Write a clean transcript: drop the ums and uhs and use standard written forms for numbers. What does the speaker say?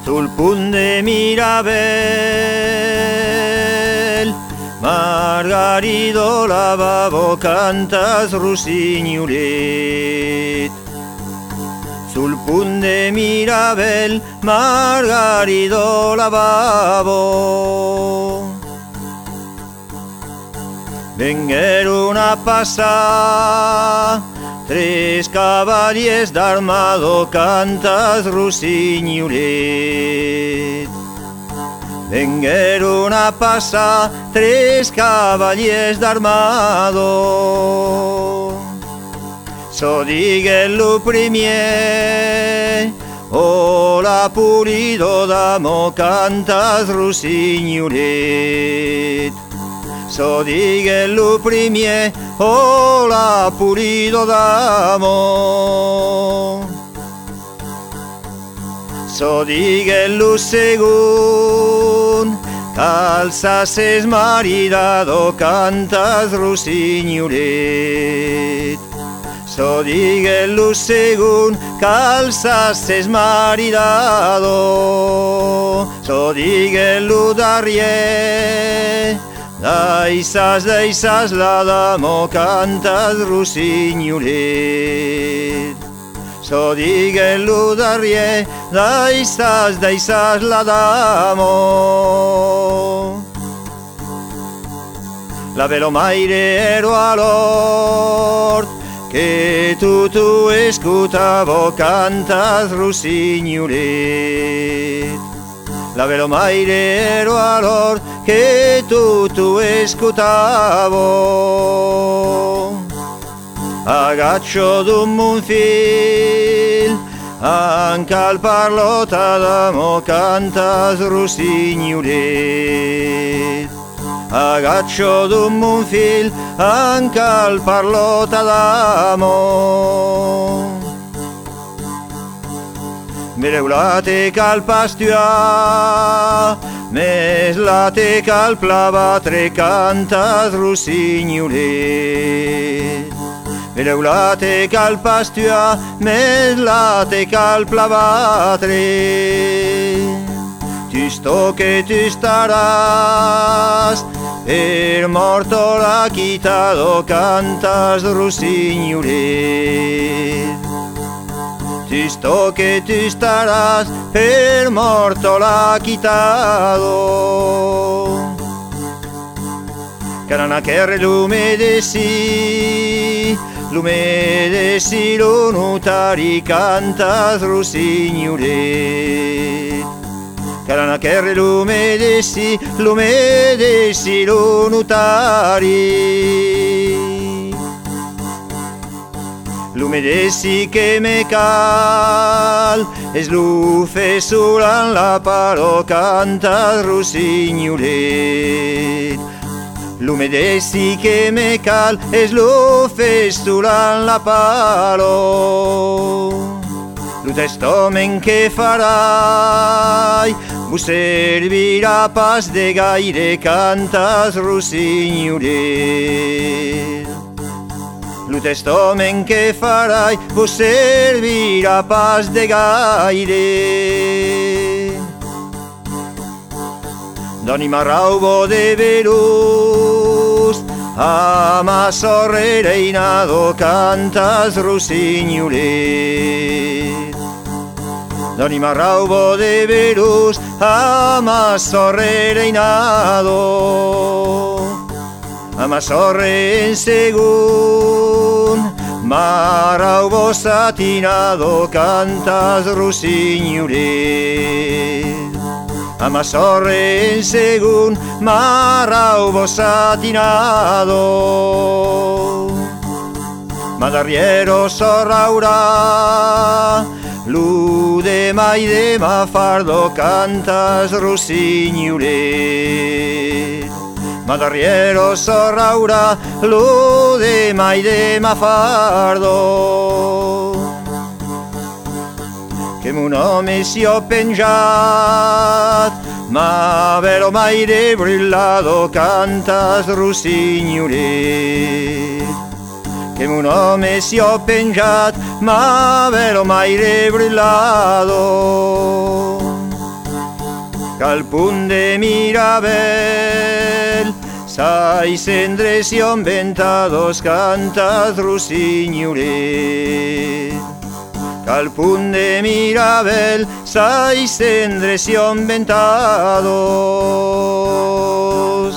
sul punt de Mirabel, Margarido lavabo cantas rossignolet. Sul punt de Mirabel, Margarido lavabo. Vengueron a passar tres cavaliers d'armado cantas rossignolet. Vengueron a passar tres cavaliers d'armado. So digué lo primer, hola Pulido d'amo cantas rossignolet. So digué lo primer, hola Pulido d'amo. So digué lo segon, calzas es maridado cantas rossignolet. So digué lo segon, calzas es maridado. So digué lo darrier, daisas la damo cantas rossignolet. So digué lo darrier, daisas la damo. La velomaire ero a l'hort, que tu escutavo cantas rossignolet. La velomaire ero a l'hort, que tu escutavo. Agaccio d'un monfil, anche al parlota d'amo cantas rossignolet. Agaccio d'un monfil, anche al parlota d'amo. Mireu la teca al pastua, mes la teca al plavatre cantas rossignolet. Mireu la teca al pastua, mes la teca al plavatre. Tu sto che tu staràs, per morto l'ha quitado cantas rossignolet. Tu sto che tu staràs, per morto l'ha quitado. Caranacherre l'umedeci lo notari cantas rossignolet. Caranacherre l'umedeci lo notari. L'umedeci che me cal, es lo fe solan la paro cantas rossignolet. L'umedeci che me cal, es lo fe solan la paro. Lo testament que farai, vos servirà pas de gaire cantas rossignolet. Lo testament que farai, vos servirà pas de gaire. Doni marraubo de velus, a ma sorre reinado cantas rossignolet. Doni marraubo de velus, a ma sorre reinado. A ma sorre en segun, marraubo satinado cantas rossignolet. A ma sorre en segun, marraubo satinado. Ma d'arriero sorraurà, lu de mai de ma fardo cantas rossignolet. Ma d'arriero sorraurà, lu de mai de ma fardo. Che mon nome si ho pengiat, ma vero mai de brillado cantas rossignolet. Che mon nome si ho pengiat, ma vero mai de brillado. Qu'al punt de Mirabel sai cendres i ventados cantat rossignolet. Qu'al punt de Mirabel sai cendres i ventados